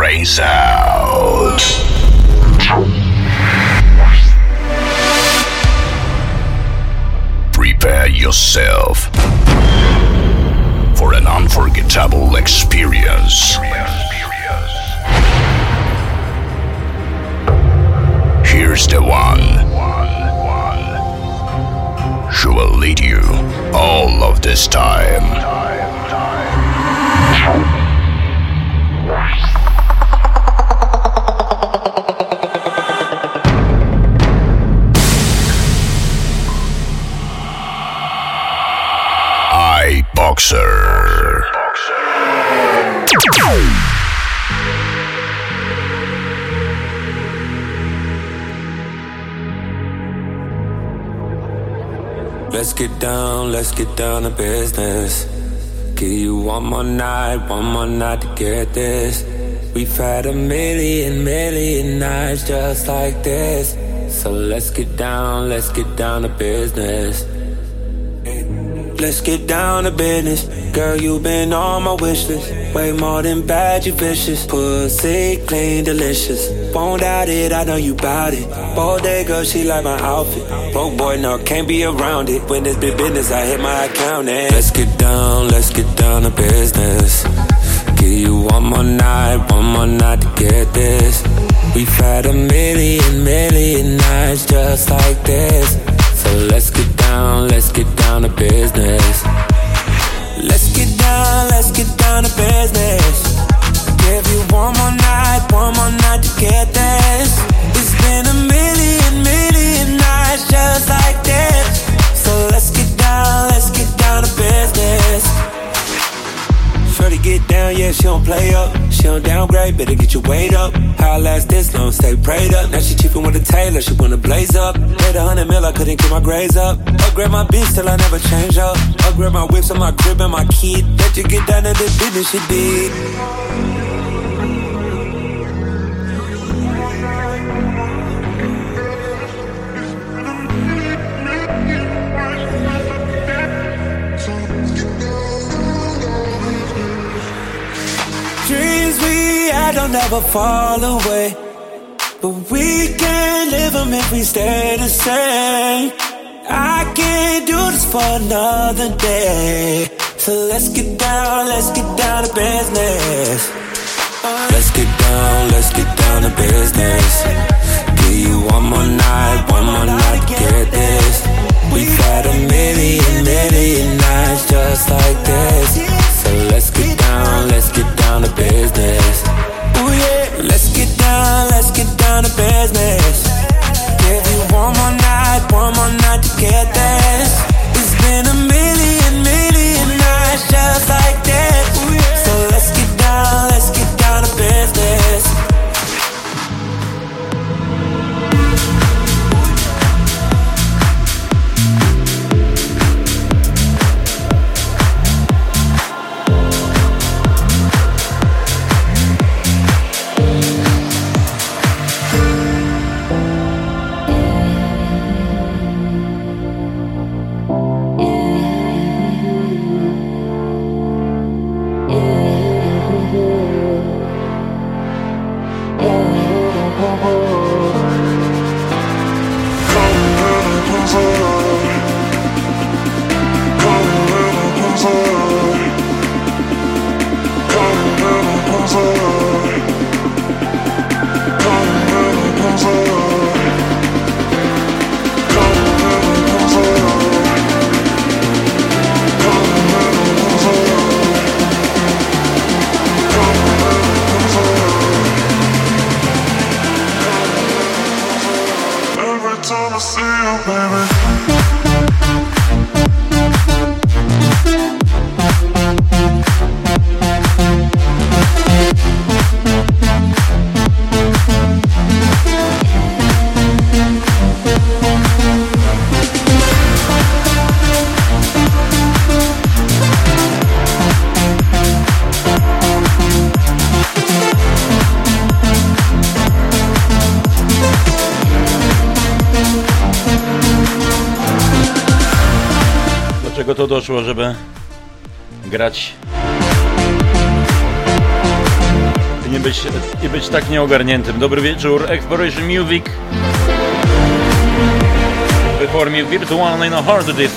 brains out. Prepare yourself for an unforgettable experience. Here's the one who will lead you all of this time. Boxer. Let's get down to business. Give you one more night to get this. We've had a million nights just like this. So let's get down to business. Let's get down to business. Girl, you been on my wish list. Way more than bad, you vicious. Pussy clean, delicious. Won't doubt it, I know you bout it. Bodega, she like my outfit. Broke boy, no, can't be around it. When it's big business, I hit my account and let's get down to business. Give you one more night to get this. We've had a million nights just like this. So let's get down to business. Let's get down to business. Give you one more night to get this. It's been a million nights just like this. So let's get down to business. Shorty get down, yeah, she don't play up. She don't downgrade, better get your weight up. How I last this long, stay prayed up. Now she cheapin' with a tailor, she wanna blaze up. Paid 100 mil, I couldn't get my grades up. Upgrade my bitch, still I never change up. Upgrade my whips on my crib and my kid. Let you get down to the business she did. Dreams we had don't never fall away, but we can't live them if we stay the same. I can't do this for another day. So let's get down to business. Let's get down to business. Give you one more night to get this. We've had a million nights just like this. So let's get down to business. Ooh yeah, let's get down to business. Give you one more night to get this. It's been a million nights just like this. So let's get down to business. Czego to doszło, żeby grać i być tak nieogarniętym. Dobry wieczór, Exploration Music w formie wirtualnej na hard disk.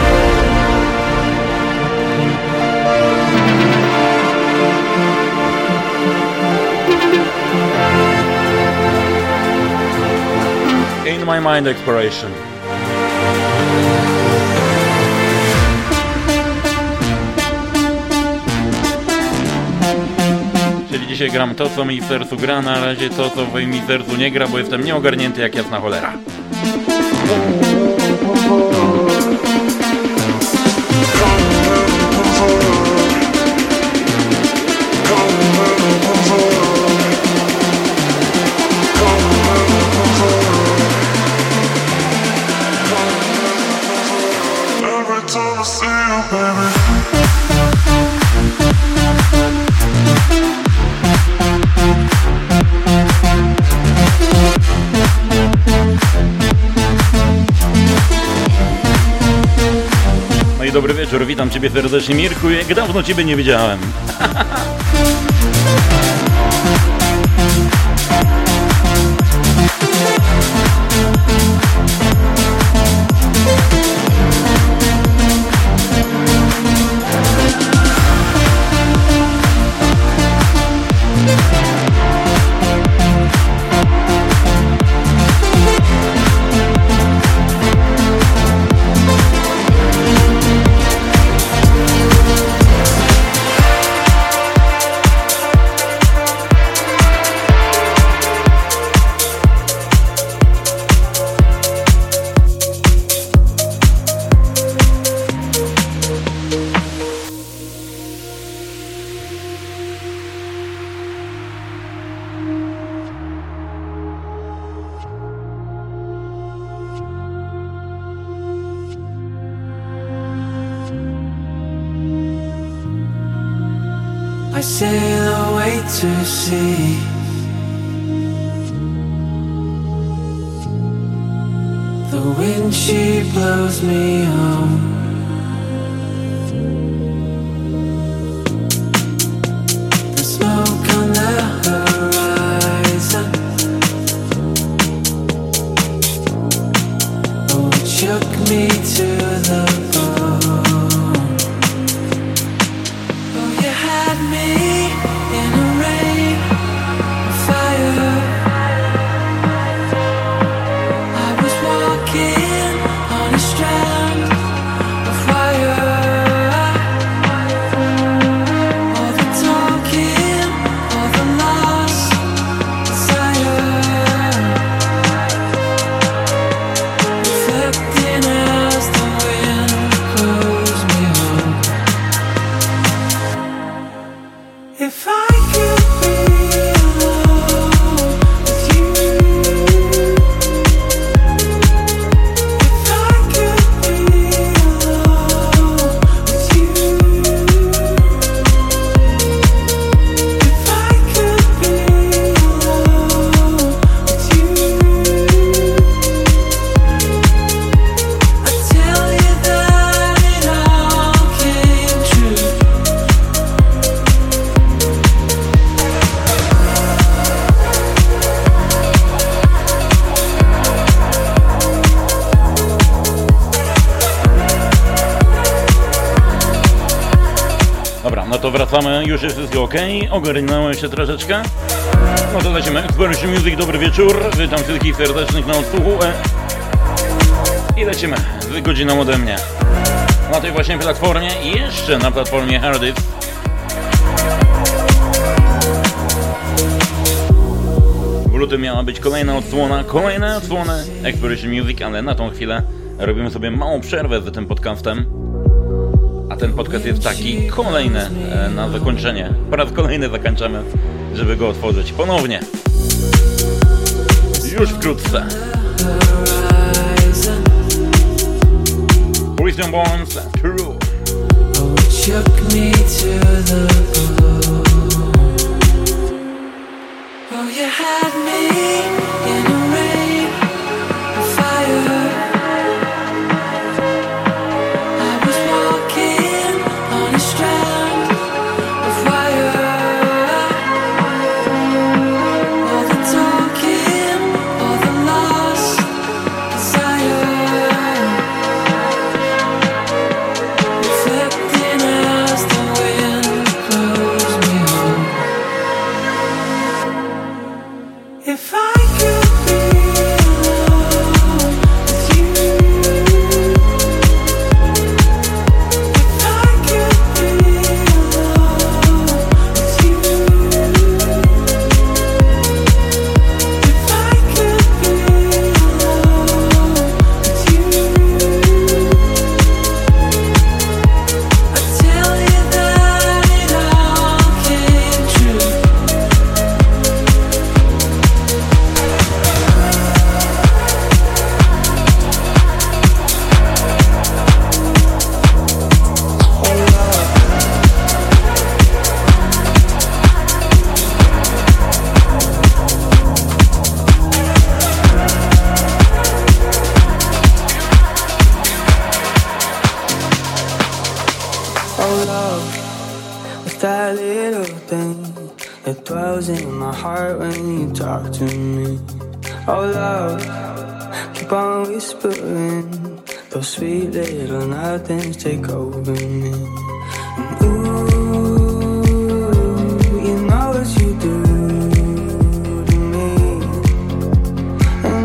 In my mind exploration. Czyli dzisiaj gram to, co mi w sercu gra, na razie to, co mi w sercu nie gra, bo jestem nieogarnięty jak jasna cholera. Dobry wieczór, witam Ciebie serdecznie, Mirku, jak dawno Ciebie nie widziałem. I sail away to sea. The wind, she blows me home. The smoke on the horizon, oh, it shook me to the bone. Oh, you had me in a rain of fire. I was walking on a strand of wire. All the talking, all the lost desire, reflecting as the wind blows me home. If I could be alone with you, if I could be alone with you, if I could be alone with you, I tell you that it all came true. Dobra, no to wracamy, już jest wszystko ok, ogarnąłem się troszeczkę. No to lecimy, Exploration Music, dobry wieczór, witam wszystkich serdecznych na odsłuchu i lecimy z godziną ode mnie. Na tej właśnie platformie i jeszcze na platformie Hardys. W lutym miała być kolejna odsłona Exploration Music, ale na tą chwilę robimy sobie małą przerwę z tym podcastem. A ten podcast jest taki kolejny na zakończenie. Po raz kolejny zakończamy, żeby go otworzyć ponownie. Już wkrótce. Christian Barnes, True. Oh, you had me in a rain of fire. I was walking on a strand of wire. Oh love, what's that little thing that dwells in my heart when you talk to me? Oh love, keep on whispering, those sweet little nothings take over me. And ooh, you know what you do to me. And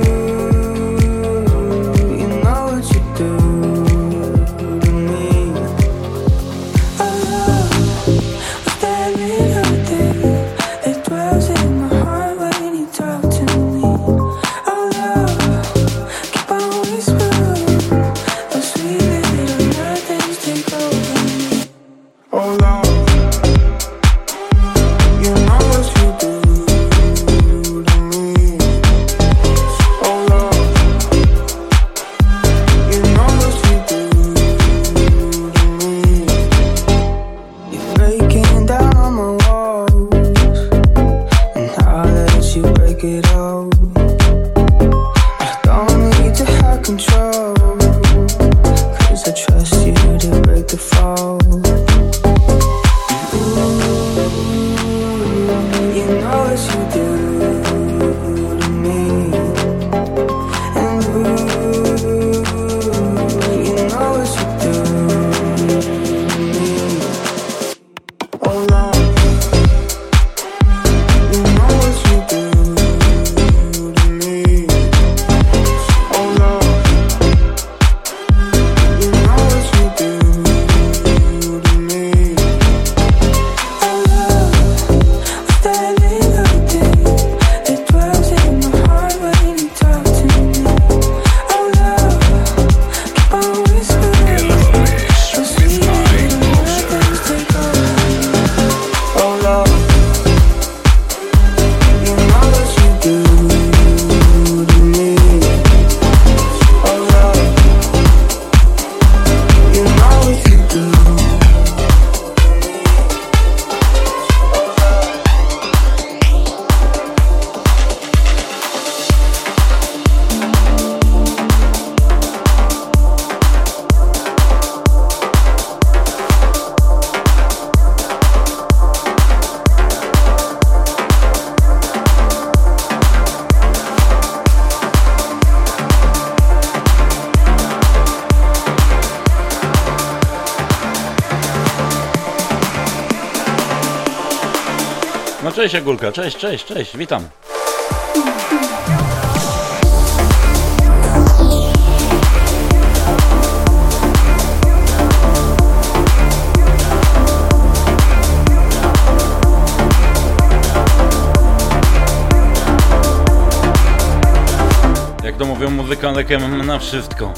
ooh, you know what you do to me. Oh love, what's that little thing that dwells in my heart when you talk to me? Oh love, keep on whispering, those sweet little nothings take over me. Oh love, you know what you do to me. Oh love, you know what you do to me. You're breaking down my walls, and I'll let you break it all. I don't need to have control, 'cause I trust you to break the fall. You know what you do to me. And ooh, you know what you do to me. Oh love, you know what you do to me. Oh love, you know what you do to me. Oh love, what's that little thing that dwells in my heart when you talk to me? Oh love, keep on whispering, those sweet little nothings take over me. Oh love, you know what you do to me. Oh love, you know what you do. No cześć Agulka, cześć, witam. Jak to mówią, muzyka lekiem na wszystko.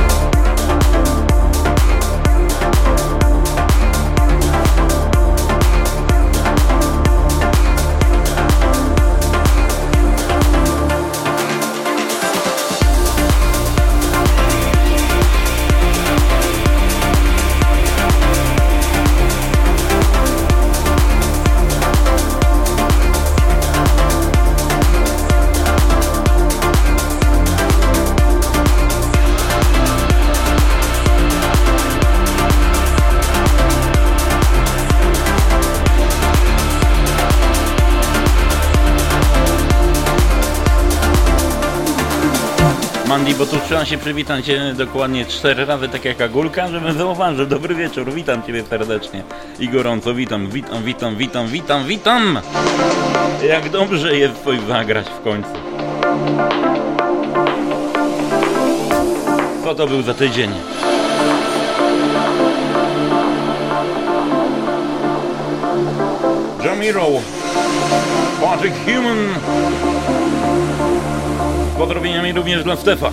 Mandy, bo tu trzeba się przywitać dokładnie 4 razy, tak jak Agulka, żebym zauważył. Dobry wieczór, witam Ciebie serdecznie i gorąco, witam. Jak dobrze jest coś zagrać w końcu. Co to był za tydzień? Jamiro, Patrick Human. Z pozdrowieniami również dla Stefa.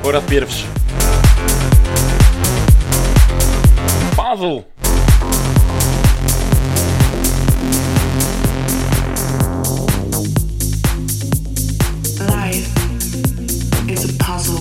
Po raz pierwszy. Puzzle. Life is a puzzle.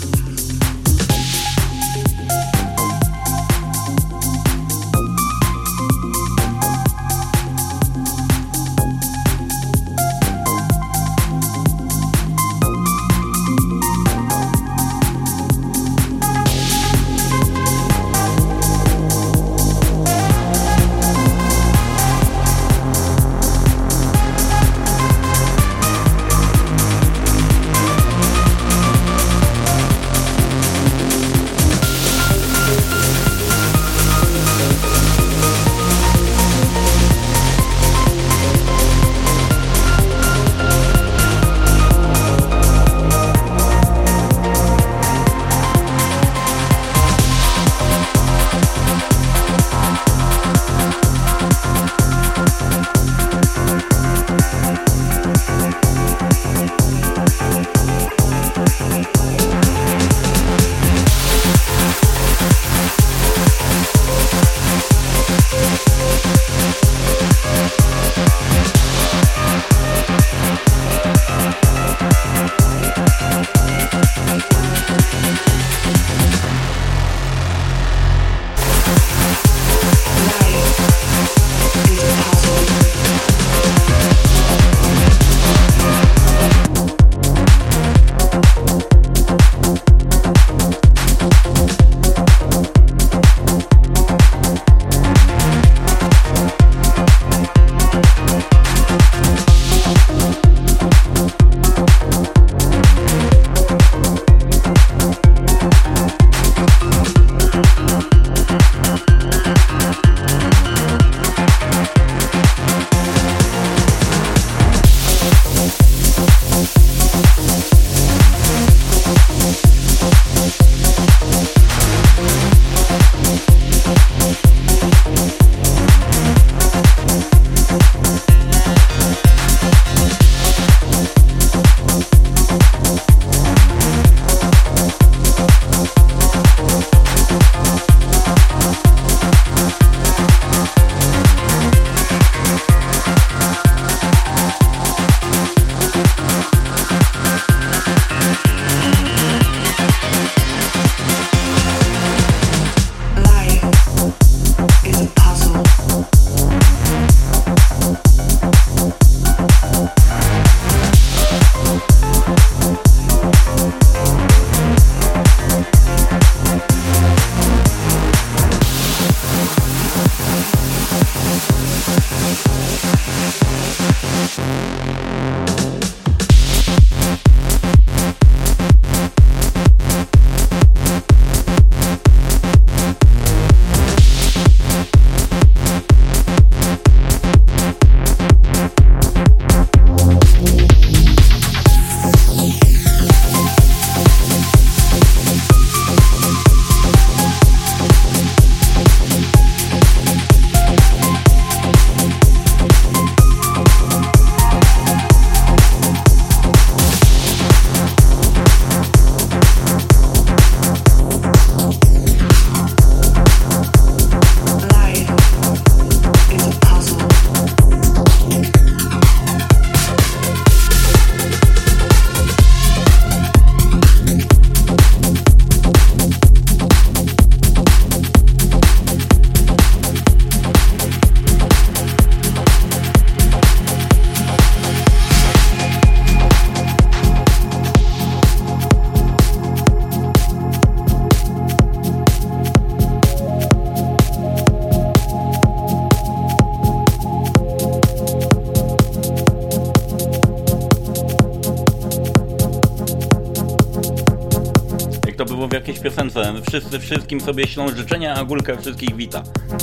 w jakiejś piosence. Wszyscy wszystkim sobie ślą życzenia, a Gulka wszystkich wita.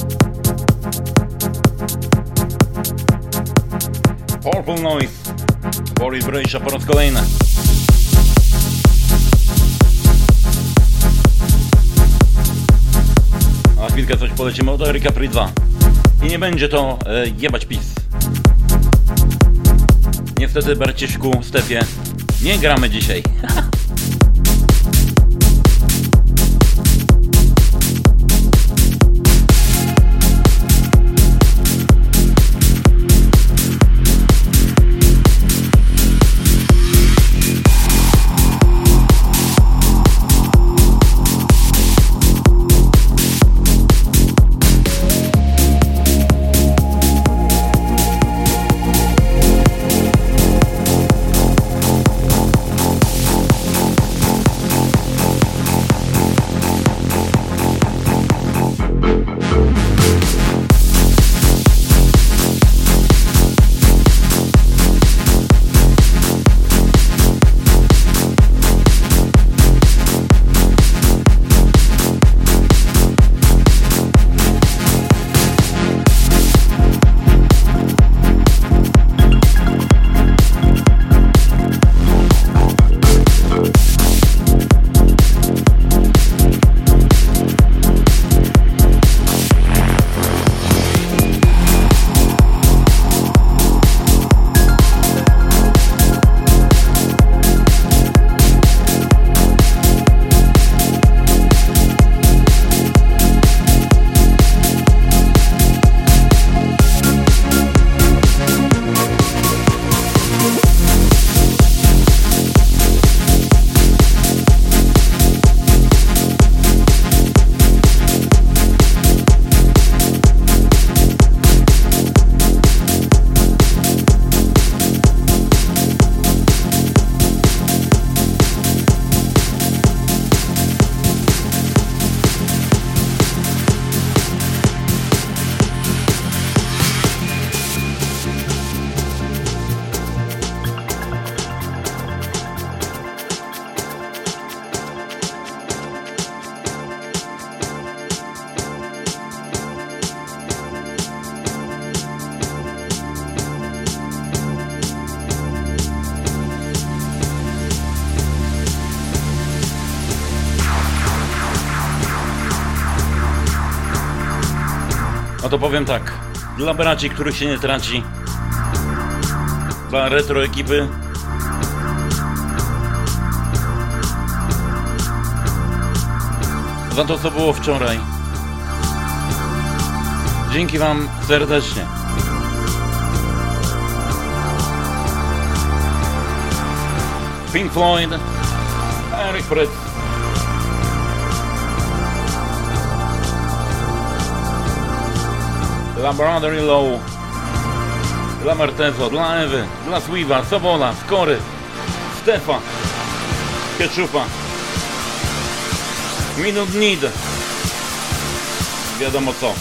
Purple Noise, Boris Brejsza po raz kolejny. A chwilkę coś polecimy od Eryka Pri 2. I nie będzie to jebać PiS. Niestety, Barciszku, Stefie, nie gramy dzisiaj. No to powiem tak, dla braci, których się nie traci, dla retro ekipy, za to, co było wczoraj. Dzięki wam serdecznie. Pink Floyd, Eric Fritz. Dla Brother-in-Law, dla Martezo, dla Ewy, dla Sweeva, Sobola, Skory, Stefa, Ketchupa, Minute Need. Wiadomo co.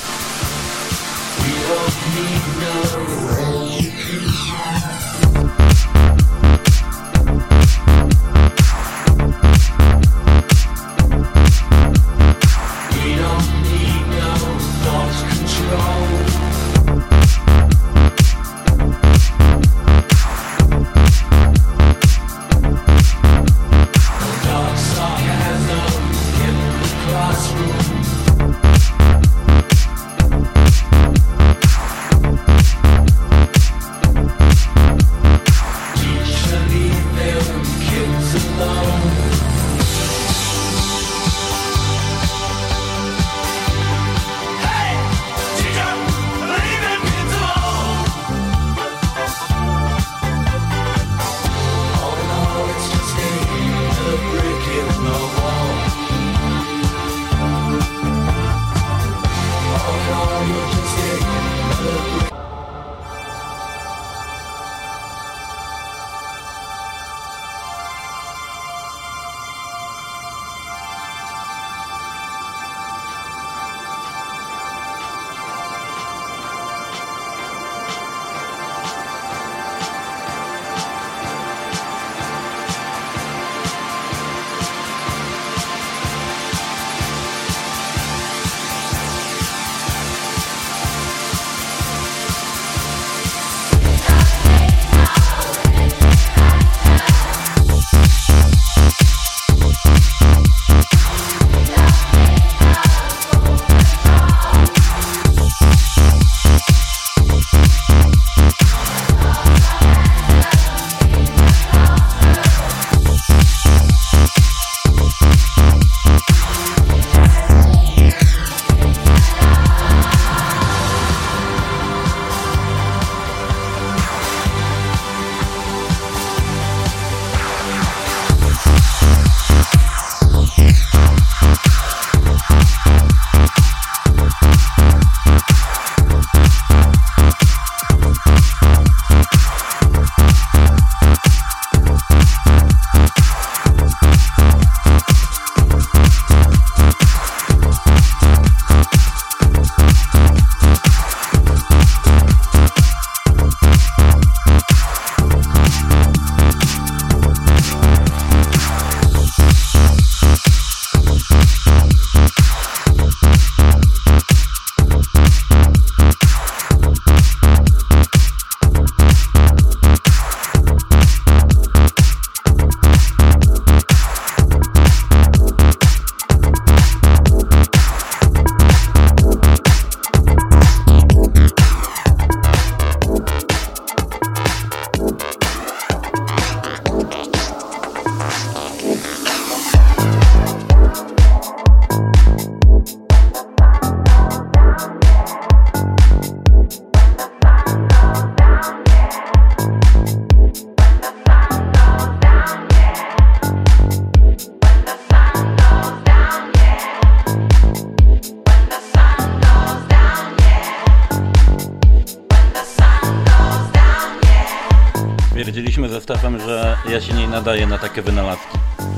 Stwierdziliśmy ze Stefem, że ja się nie nadaję na takie wynalazki.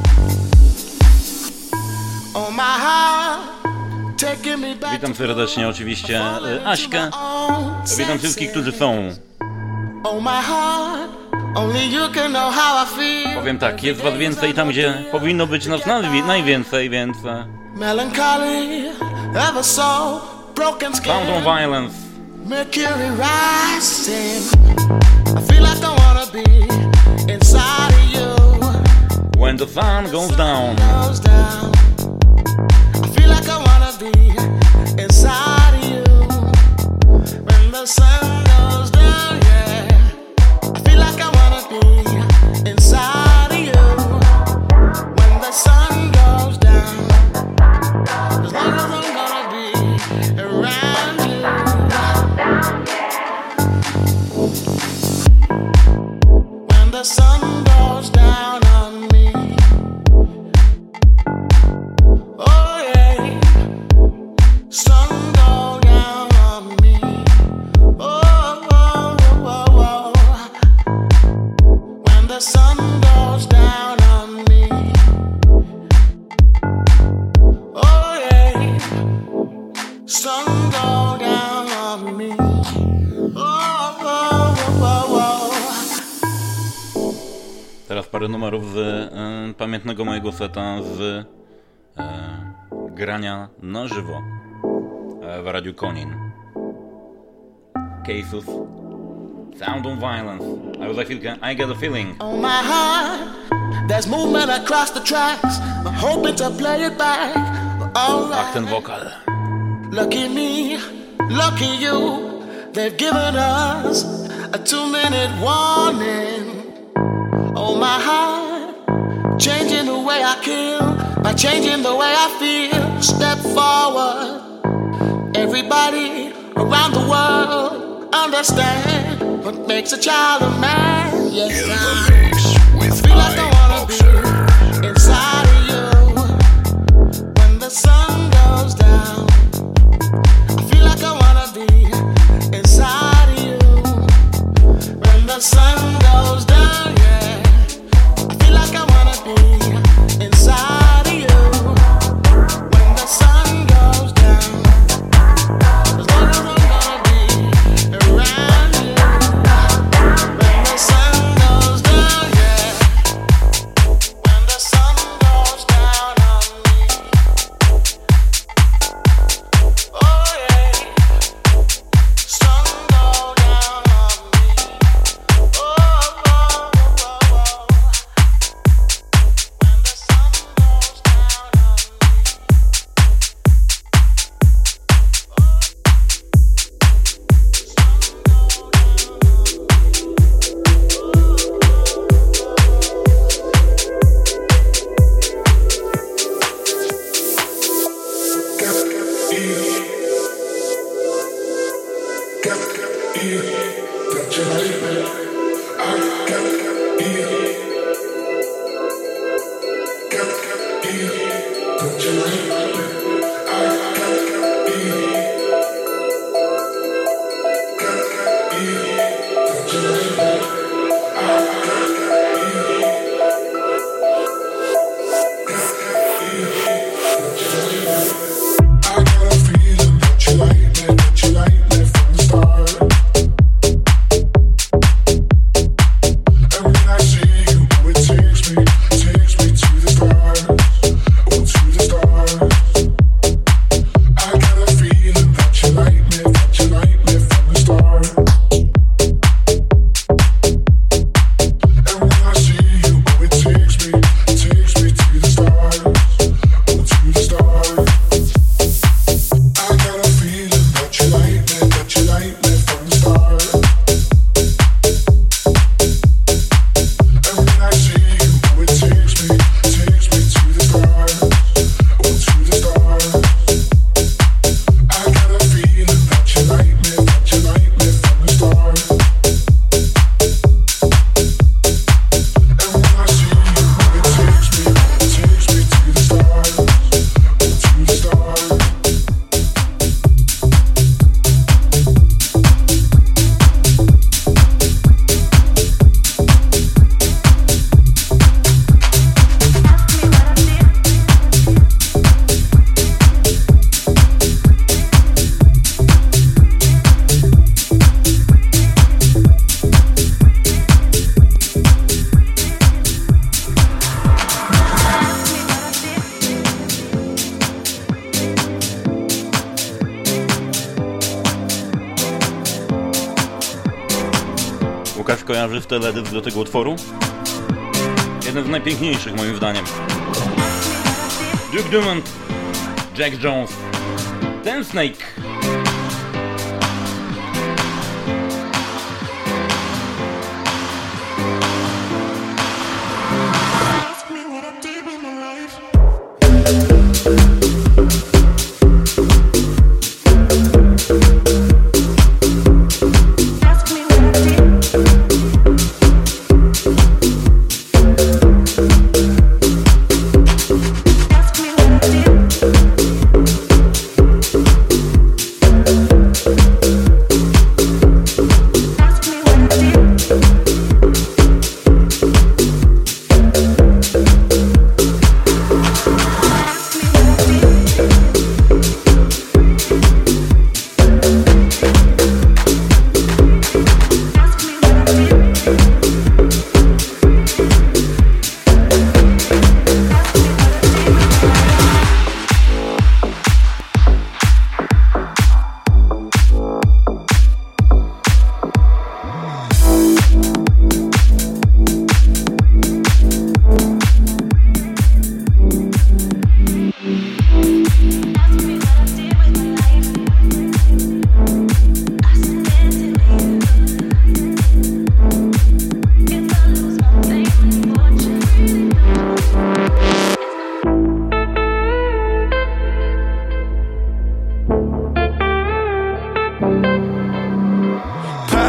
Witam serdecznie oczywiście Aśkę. Witam wszystkich, którzy są. Powiem tak, jest was więcej tam, gdzie powinno być nas najwięcej, więc... Sound of Violence. Mercury rising. I feel like I wanna be inside of you. When the sun goes down. I feel like I wanna be inside of you. parę numerów z pamiętnego mojego seta z grania na żywo w Radiu Konin. Cases, Sound of Violence, a już za chwilkę I Get a Feeling. On my heart, there's movement across the tracks. I'm hoping to play it back. Ach, ten wokal. Lucky me, lucky you. They've given us a 2-minute warning. Oh my heart, changing the way I kill by changing the way I feel. Step forward. Everybody around the world understand what makes a child a man. Yes, in the mix with feel like I wanna be inside of you when the sun goes down. I feel like I wanna be inside of you when the sun goes down. Yeah, I feel like I wanna be inside of you when the sun goes down. As long as I'm gonna be around you when the sun goes down. Yeah, when the sun goes down on me. Oh yeah, sun go down on me. Oh, oh, oh, oh. When the sun goes down on me. Łukasz kojarzy w teledysk do tego utworu? Jeden z najpiękniejszych moim zdaniem. Duke Dumont, Jack Jones, Ten Snake.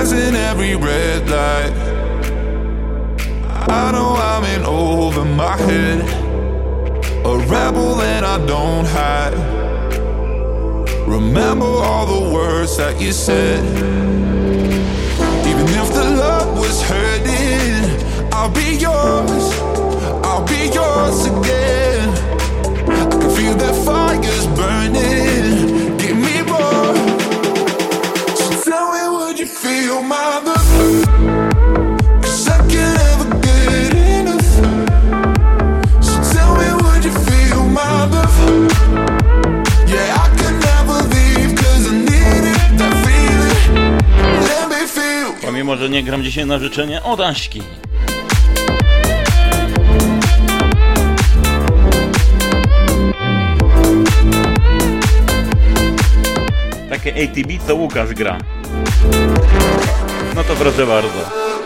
passing every red light. I know I'm in over my head, a rebel and I don't hide. Remember all the words that you said. Even if the love was hurting, I'll be yours, I'll be yours again. I can feel the fire's burning, give me more. So tell me, would you feel my love? 'Cause I can't ever get enough. So tell me, would you feel my love? Yeah, I can never leave 'cause I need it, that feeling. Let me feel. Pomimo, że nie gram dzisiaj na życzenie od Aśki. Takie ATB co Łukasz gra. No to proszę bardzo.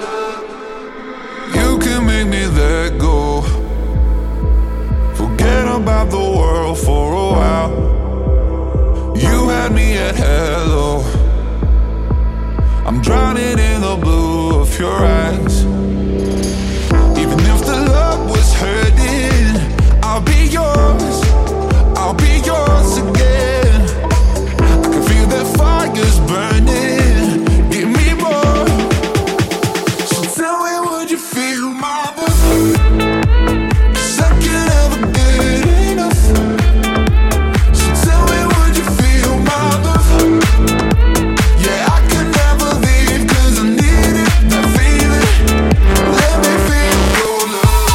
You can make me let go. Forget about the world for a while. You had me at hello. I'm drowning in the blue of your eyes. Even if the love was hurting, I'll be yours, I'll be yours again. I can feel that fire's burning, give me more. So tell me, would you feel my love? 'Cause I can't ever get enough. So tell me, would you feel my love? Yeah, I can never leave 'cause I need it, that feeling. Let me feel your love.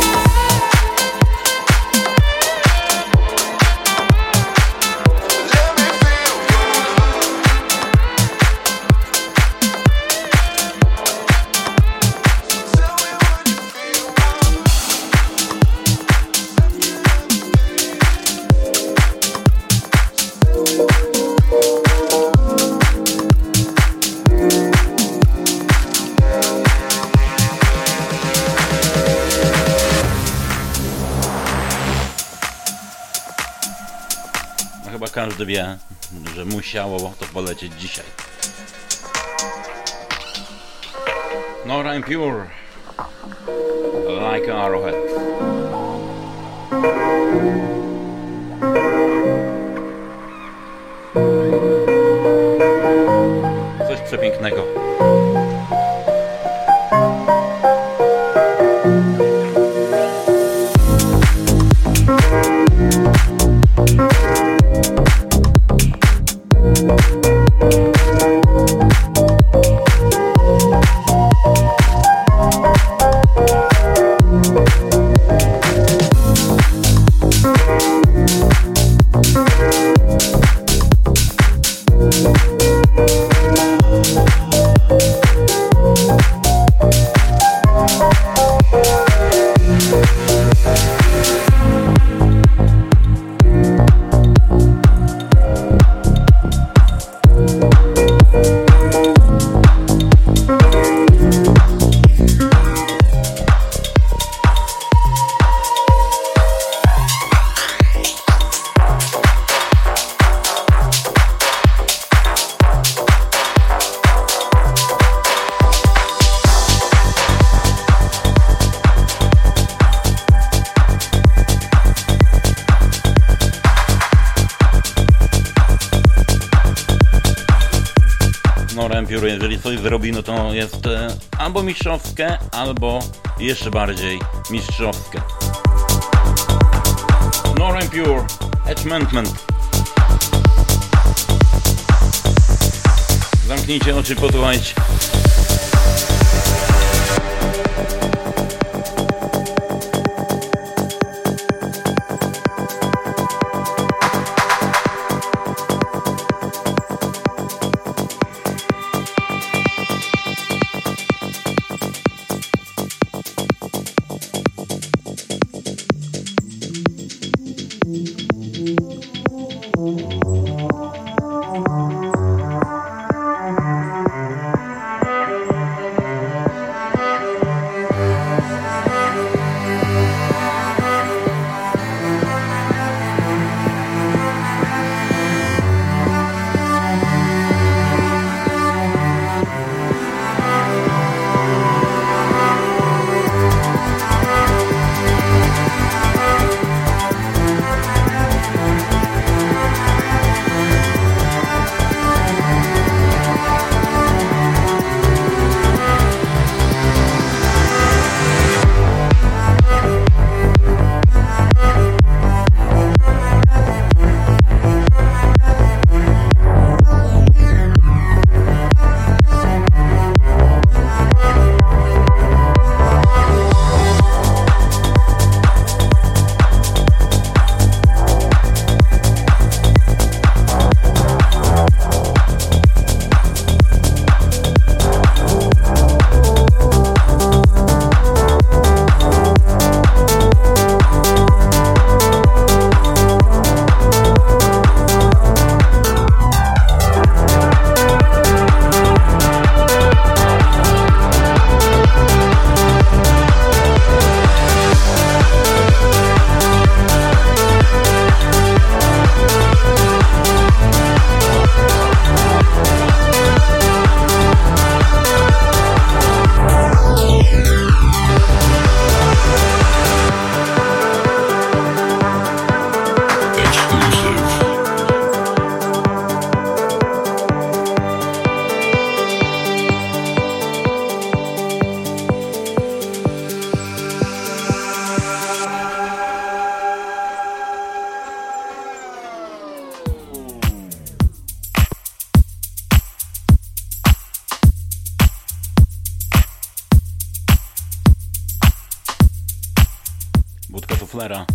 Let me feel your love. Tell me, would you feel my love? No chyba każdy wie, że musiało to polecieć dzisiaj. Nora En Pure, Like an Arrowhead. Coś przepięknego. Jeżeli coś zrobi, no to jest albo mistrzowskie, albo jeszcze bardziej mistrzowskie. Nora En Pure, Attachment. Zamknijcie oczy, posłuchajcie. Flera.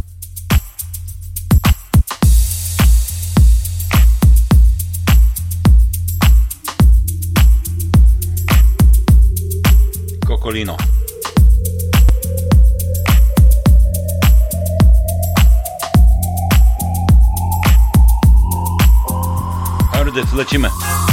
Cocolino. Ardec, lecimy.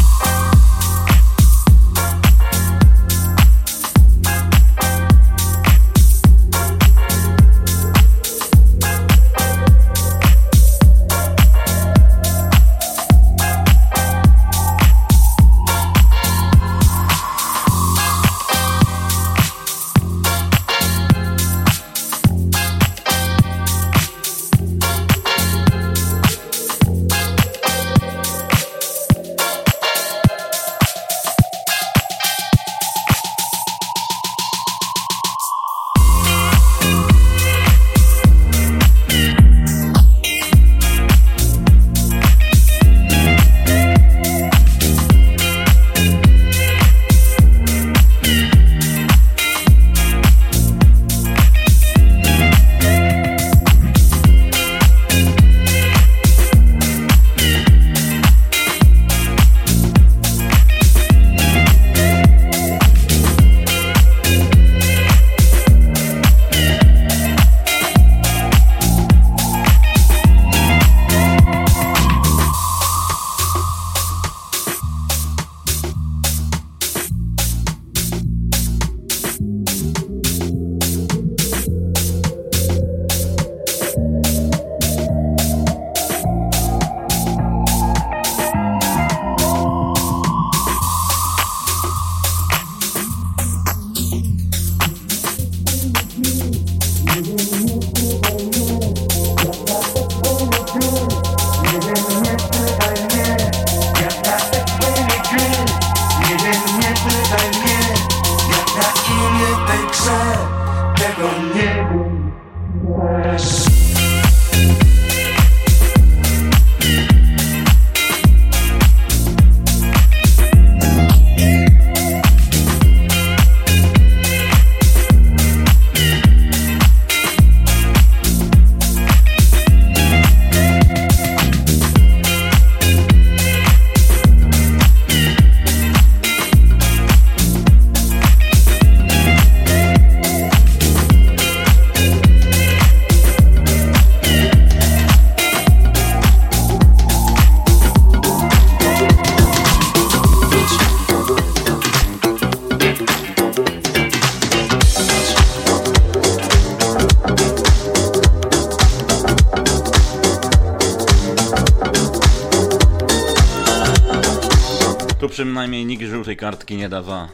Przynajmniej nikt żółtej kartki nie da za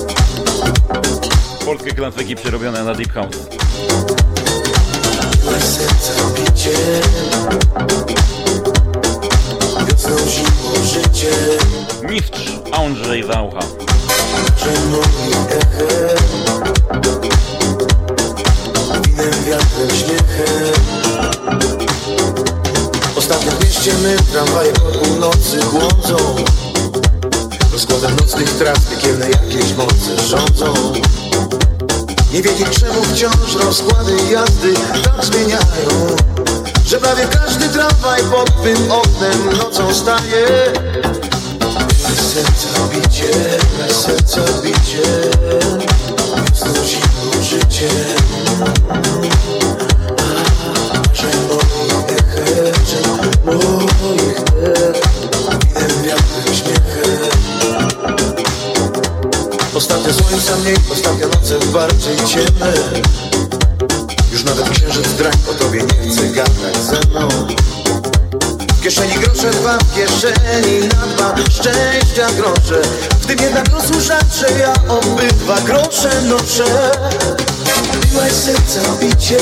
polskie klasyki przerobione na Deep House. Mistrz Andrzej Zaucha. Ostatnio w mieście my tramwaje po północy błądzą. Rozkładem nocnych tras piekielne jakieś mocy rządzą. Nie wiedzieć czemu wciąż rozkłady jazdy tak zmieniają, że prawie każdy tramwaj pod twym oknem nocą staje. Me serca bicie, wiosną zimną życie. Marzeń moich echem, moich dech, winem wiatrem śmiechem. Ostatnie słońca mniej, ostatnie noce bardziej ciemne. Już nawet księżyc drań o tobie nie chce gadać ze mną. W kieszeni grosze dwa, w kieszeni na dwa, szczęścia grosze. W tym jednak losu rzadsze, ja obydwa grosze noszę. Miłaś serca bicie,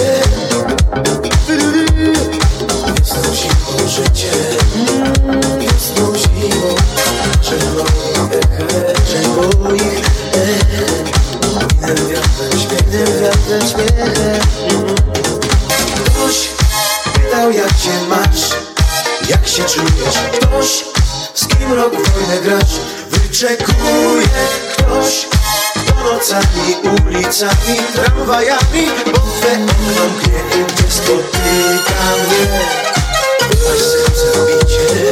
wiosną zimą życie, wiosną zimą. Że moich echem, moich echem, winem wiatrem śmiechem. Ktoś pytał jak cię masz, jak się czujesz. Ktoś z kim rok wojnę grasz, wyczekuje. Ktoś kto nocami, ulicami, tramwajami, bo twe okno mknie, gdzie spotyka mnie aż serce bicie.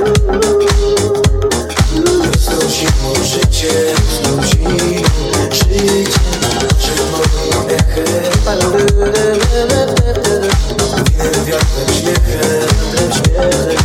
Znosimo życie, znosimo życie, przed moim echem winę wiatrem, śmiechem, śmiechem.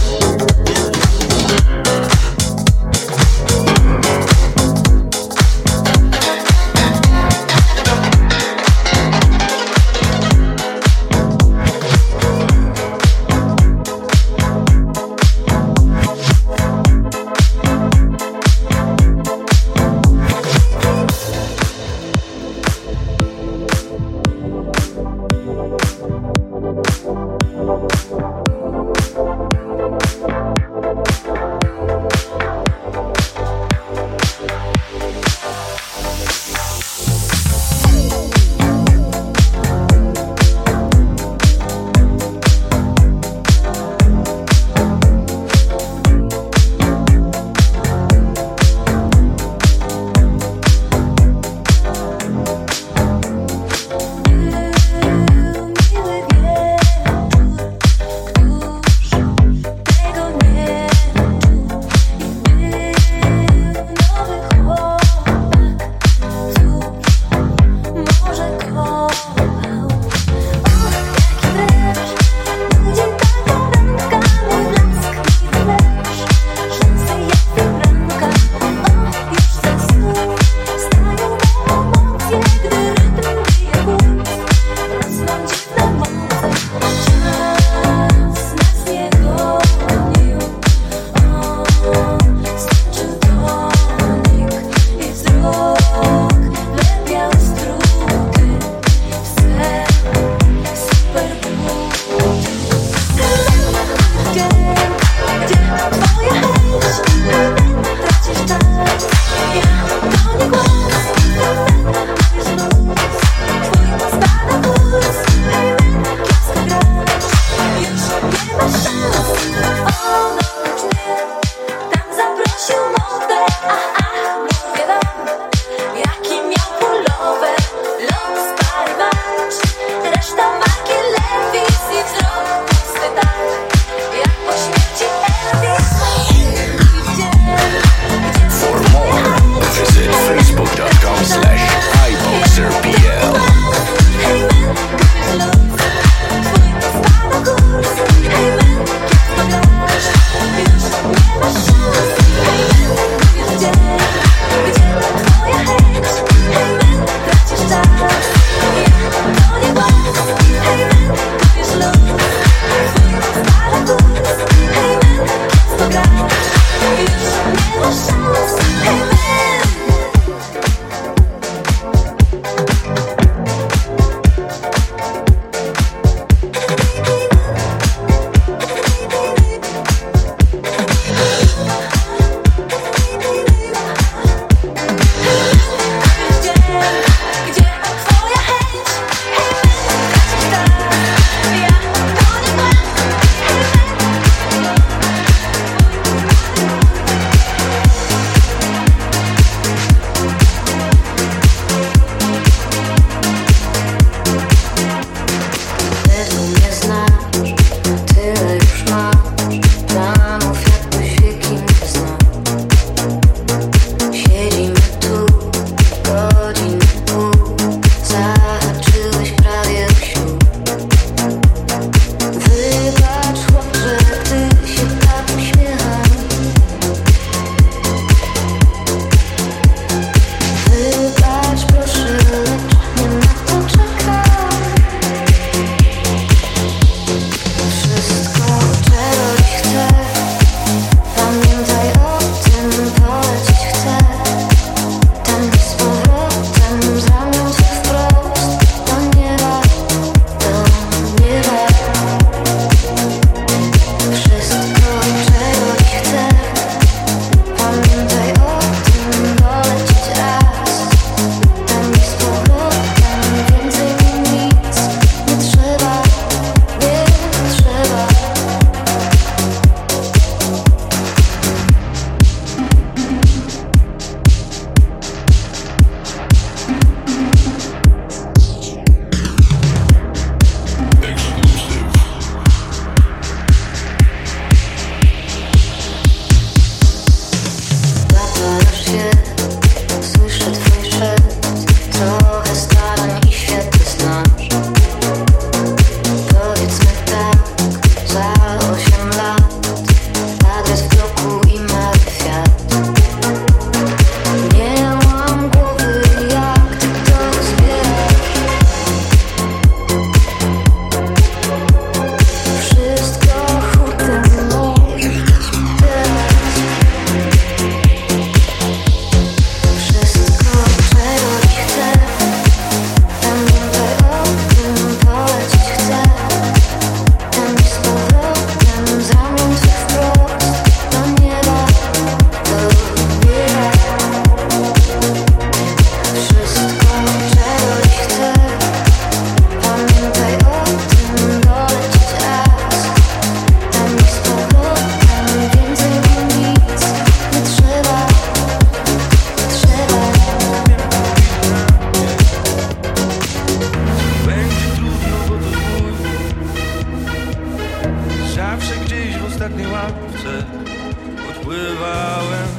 Odpływałem.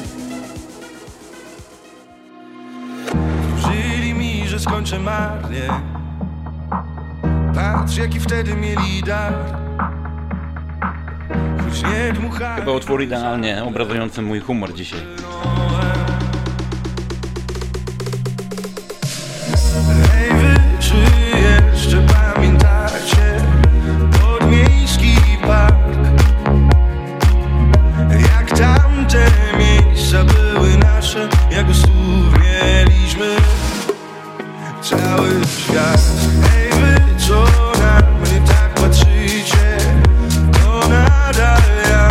Wróżyli mi, że skończę marnie. Patrz, jaki wtedy mieli dar. Choć nie dmuchałem. Chyba utwór idealnie obrazujący mój humor dzisiaj. Hej wy, czy jeszcze pamiętacie podmiejski park? Jak tamte miejsca były nasze, jak usłów mieliśmy cały świat. Hej wy, co na mnie tak patrzycie, to nadal ja.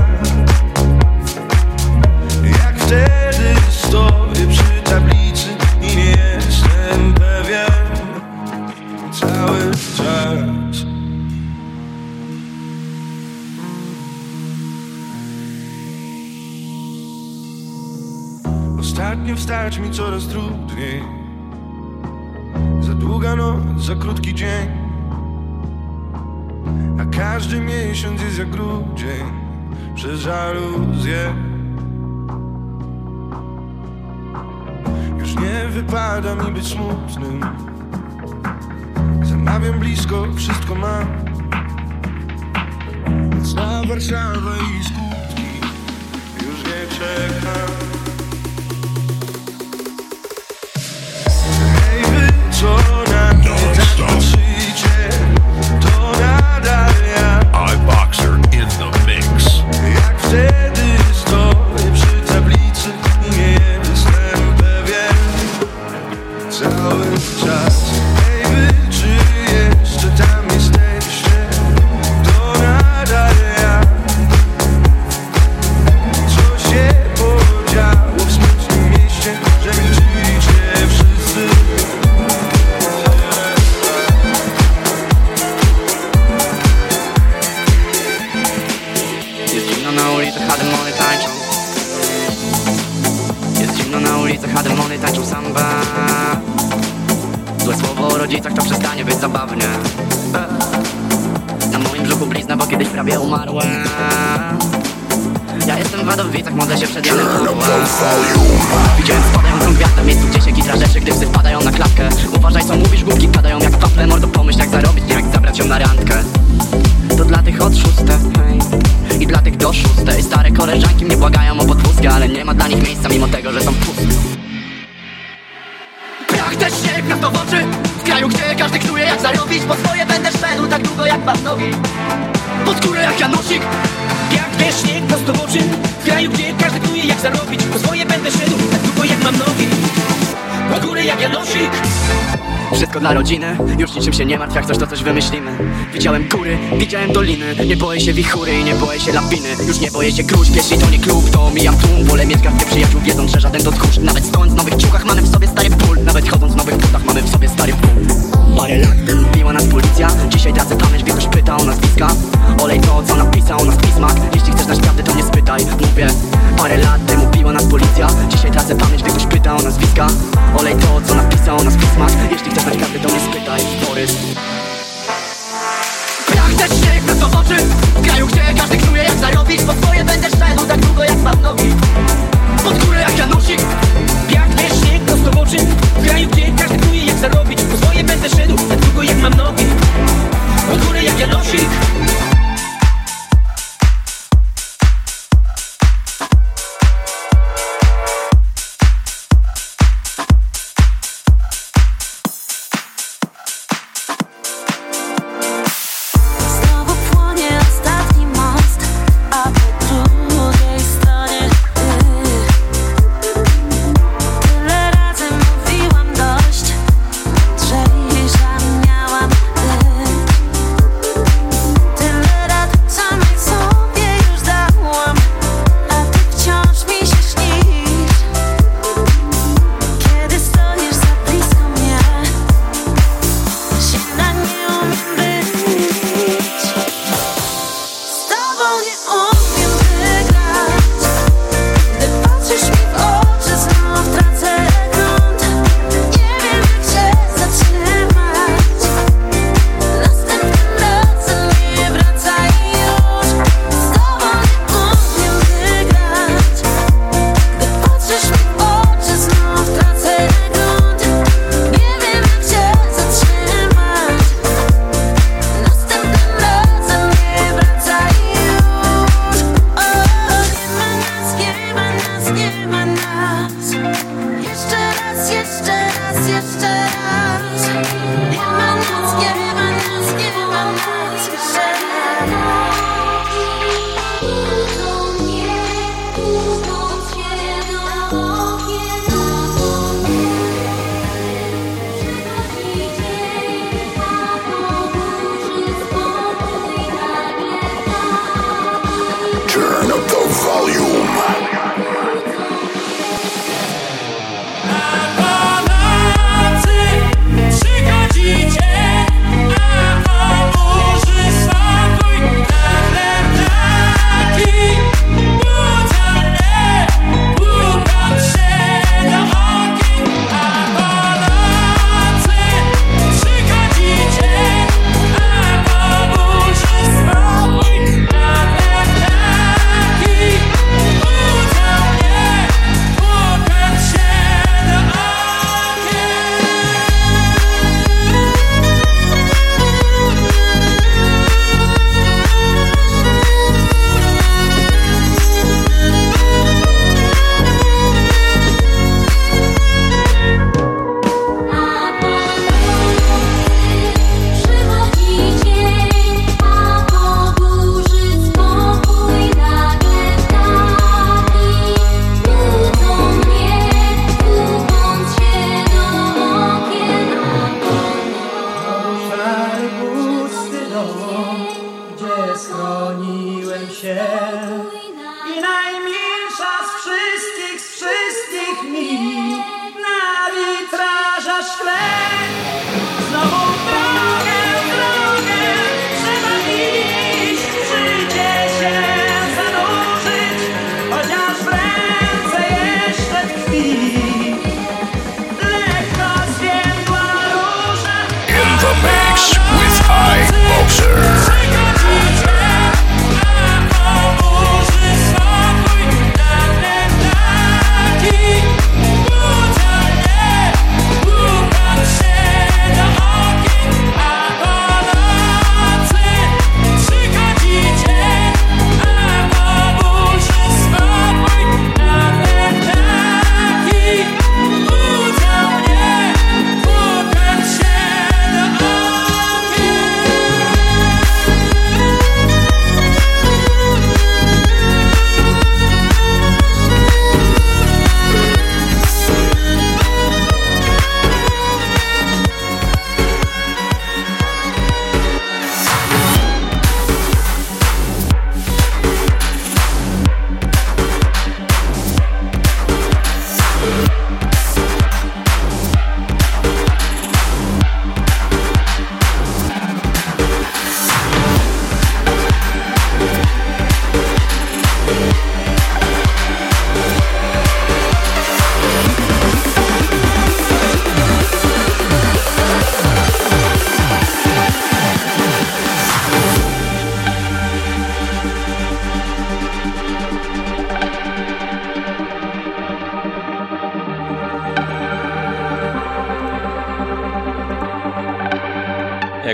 Jak wtedy stoję przy tablicy i nie jestem pewien cały czas. Ostatnio wstać mi coraz trudniej. Za długa noc, za krótki dzień. A każdy miesiąc jest jak grudzień przez żaluzję. Już nie wypada mi być smutnym. Zamawiam blisko, wszystko mam. Cała Warszawa i skutki już nie czekam. Hej wy, co na mnie tak patrzycie, to nadal ja. iBoxer in the mix. Jak wtedy stoję przy tablicy i nie jestem pewien cały czas. Hej wy, czy jeszcze tam jesteście, to nadal ja. Co się podziało w smutnym mieście, że milczycie wszyscy. Jest zimno na ulicach, a demony tańczą. Jest zimno na ulicach, a demony tańczą samba. Złe słowo o rodzicach to przestanie być zabawnie. Na moim brzuchu blizna, bo kiedyś prawie umarła. Ja jestem w Wadowicach, modlę się przed Janem Pawła. Widziałem spadającą gwiazdę w miejscu, gdzie się kitra rzeczy, gdy psy wpadają na klatkę. Uważaj co mówisz, głupki padają jak wafle. Mordo, pomyśl jak zarobić, nie jak zabrać ją na randkę. To dla tych od 6, hej, i dla tych do 6. Stare koleżanki mnie błagają o podwózkę, ale nie ma dla nich miejsca, mimo tego, że są puste. Prach też śnieg nas to w oczy, w kraju, gdzie każdy knuje jak zarobić. Po swoje będę szedł tak długo jak pan nogi, pod górę jak Janosik. Jak wiesz, śnieg prosto w oczy, w kraju, gdzie każdy knuje jak zarobić. Po swoje będę szedł tak długo jak mam nogi, pod górę jak Janosik. Wszystko dla rodziny, już niczym się nie martw, jak coś to coś wymyślimy. Widziałem góry, widziałem doliny, nie boję się wichury i nie boję się lawiny. Już nie boję się gruźb, jeśli to nie klub, to mijam tłum. Wolę mieć garstkę przyjaciół, wiedząc, że żaden to tchórz. Nawet stojąc w nowych ciuchach, mamy w sobie stary ból. Nawet chodząc w nowych butach, mamy w sobie stary ból. Parę lat temu biła nas policja, dzisiaj tracę pamięć, gdy ktoś pyta o nazwiska. Olej to, co napisał o nas pismach. Jeśli chcesz znać prawdę, to nie spytaj, mówię. Parę lat temu biła nas policja, dzisiaj tracę pamięć, gdy ktoś pyta o nazwiska. Olej to, co napisał o nas pismach. Jeśli chcesz znać prawdę, to nie spytaj, Borys. Prach też śnieg prosto w oczy, w kraju, gdzie każdy knuje jak zarobić. Po swoje będę szedł tak długo jak mam nogi, pod górę jak Janosik. Jak wiesz, śnieg prosto w oczy, w kraju, gdzie każdy knuje jak zarobić. Po swoje będę szedł tak długo jak mam nogi, pod górę jak Janosik. Znowu płonie ostatni most, a po drugiej stronie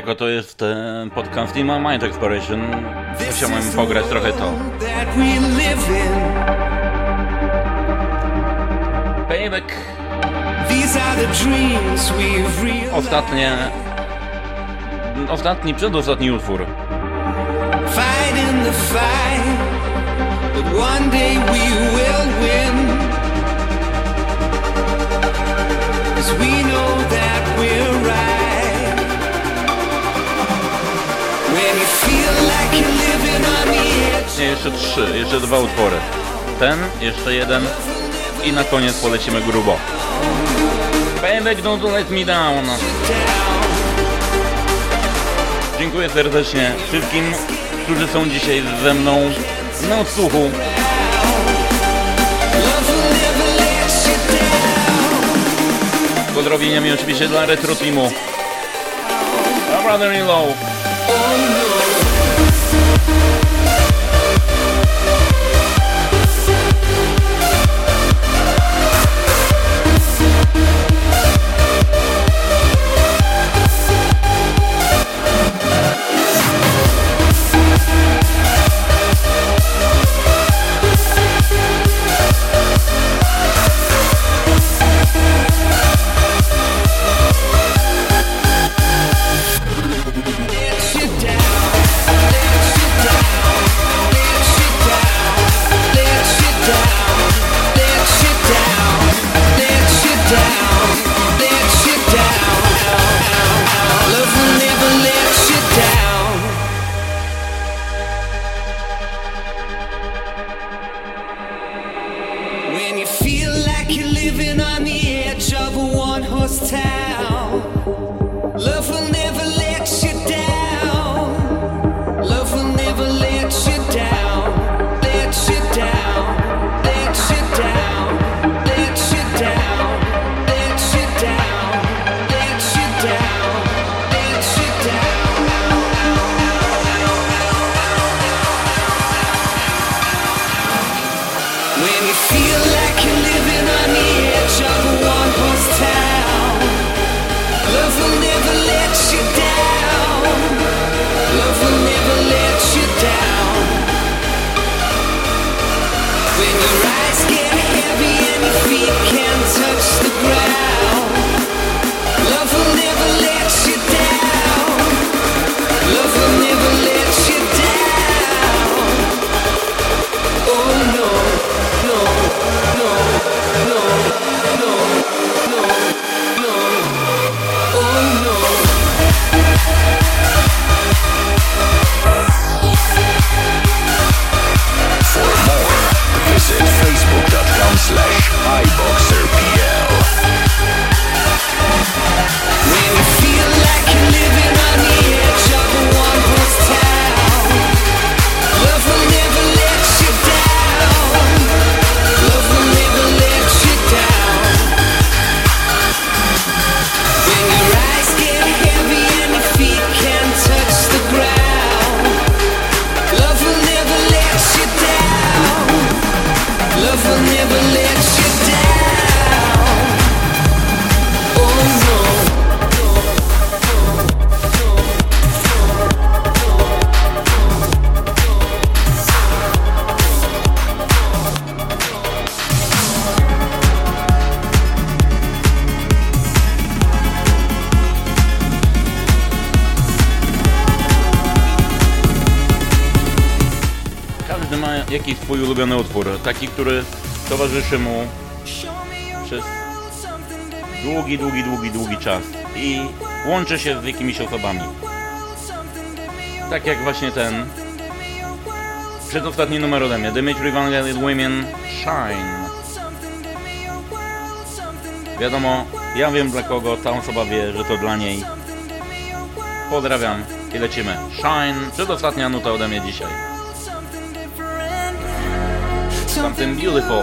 Tylko to jest podcast in my mind exploration. Musiałem pograć trochę to. Payback. Przedostatni utwór. Fighting the fight, but one day we will win. 'Cause we know that we're right. When you feel like you're living on the edge. Nie, jeszcze 3, jeszcze 2 utwory. Ten, jeszcze jeden i na koniec polecimy grubo. Payback, don't let me down. Dziękuję serdecznie wszystkim, którzy są dzisiaj ze mną na odsłuchu. Pozdrowieniami oczywiście dla Retro Teamu. My brother-in-law. Jaki swój ulubiony utwór, taki, który towarzyszy mu przez długi czas i łączy się z jakimiś osobami. Tak jak właśnie ten przedostatni numer ode mnie, Dimitri Vangelis Women Shine. Wiadomo, ja wiem dla kogo, ta osoba wie, że to dla niej. Pozdrawiam i lecimy. Shine, przedostatnia nuta ode mnie dzisiaj. Something beautiful.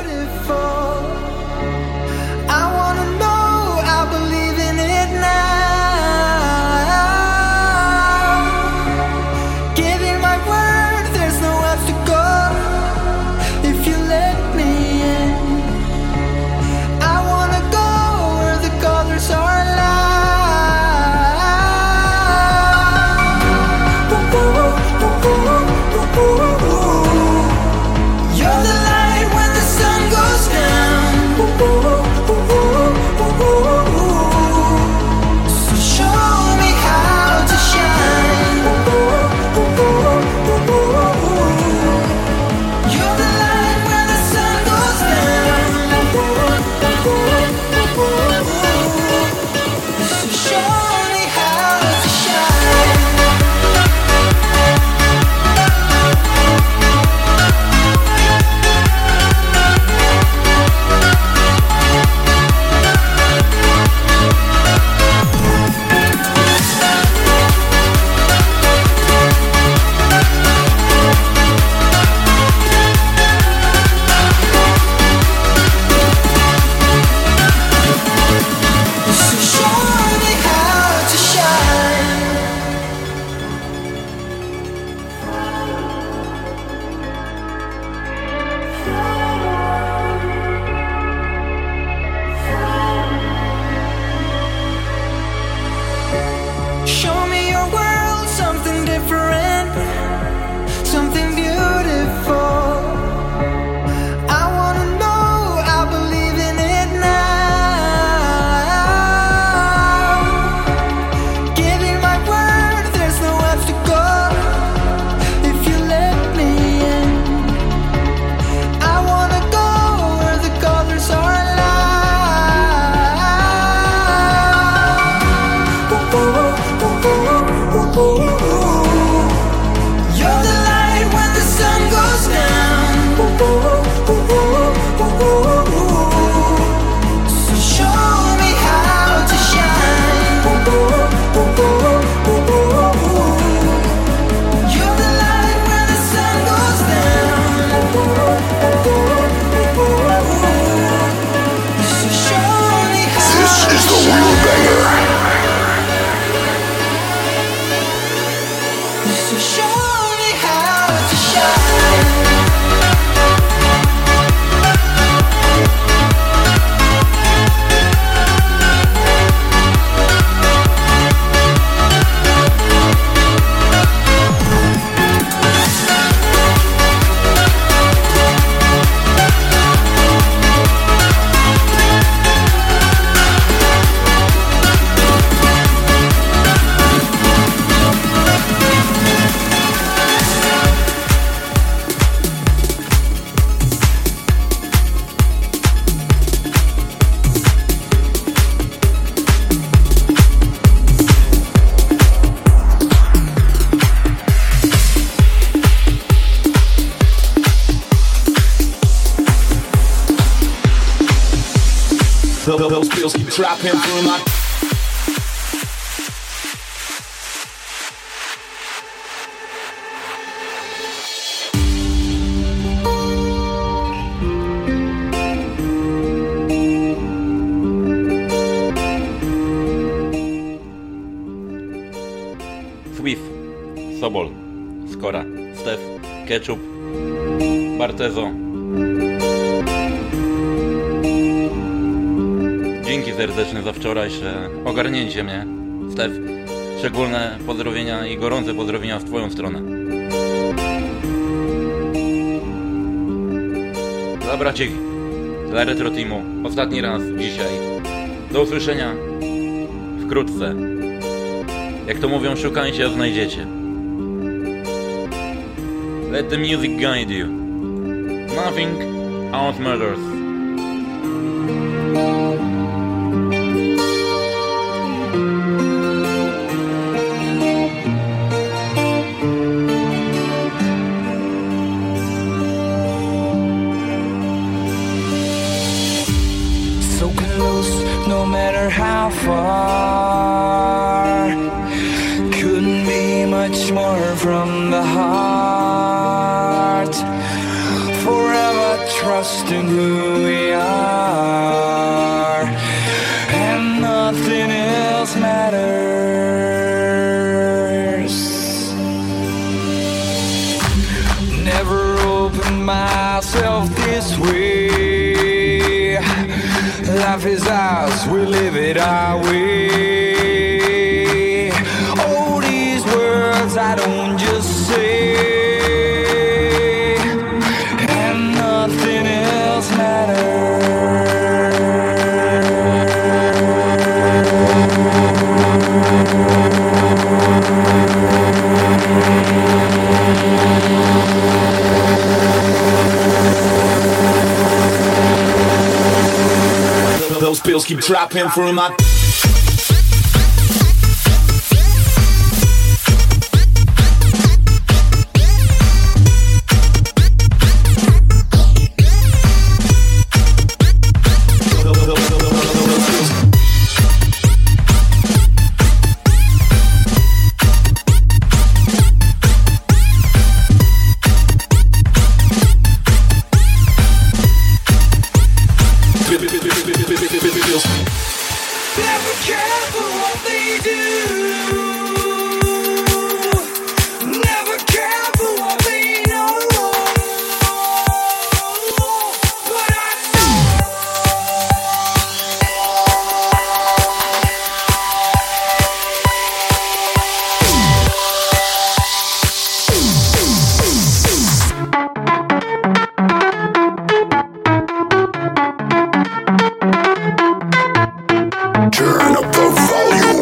I wanna know, I believe in it now. Giving my word, there's no else to go. If you let me in, I wanna go where the colors are alive. Those pills keep dropping through my. Swift, Sobol, Skora, Stef, Ketchup, Bartezo. Dzięki serdeczne za wczorajsze ogarnięcie mnie, Stef. Szczególne pozdrowienia i gorące pozdrowienia w twoją stronę. Dla braci, dla Retro Teamu, ostatni raz dzisiaj. Do usłyszenia wkrótce. Jak to mówią, szukajcie, a znajdziecie. Let the music guide you. Nothing out matters. So close, no matter how far. Couldn't be much more from the heart. Forever trusting who we are, and nothing else matters. Never opened myself this way. Life is ours, we live it our way. All these words I don't just say, and nothing else matters. Those pills keep dropping through my. Never careful what they do. Never careful what they know. But I Turn up the volume.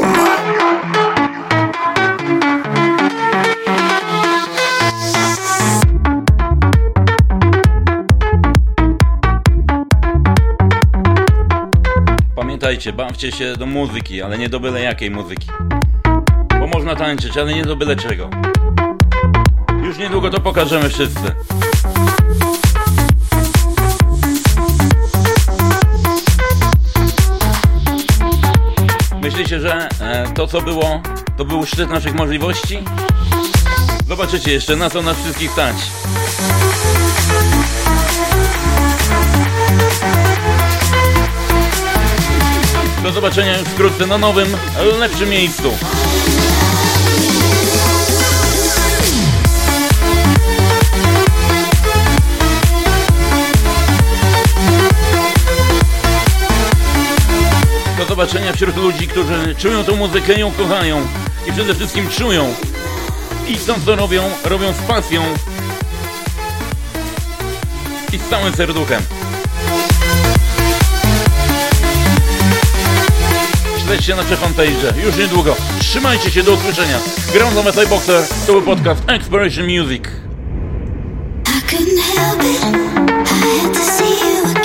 Pamiętajcie, bawcie się do muzyki, ale nie do byle jakiej muzyki. Bo można tańczyć, ale nie do byle czego. Już niedługo to pokażemy wszyscy. Myślicie, że to co było, to był szczyt naszych możliwości? Zobaczycie jeszcze, na co nas wszystkich stać. Do zobaczenia już wkrótce na nowym, lepszym miejscu. Do zobaczenia wśród ludzi, którzy czują tą muzykę, ją kochają i przede wszystkim czują. I to co robią z pasją i z całym serduchem. Śledźcie nasze fanpage już niedługo. Trzymajcie się, do usłyszenia. Ground of Metal Boxer, to był podcast Exploration Music. I couldn't help it, I had to see you again.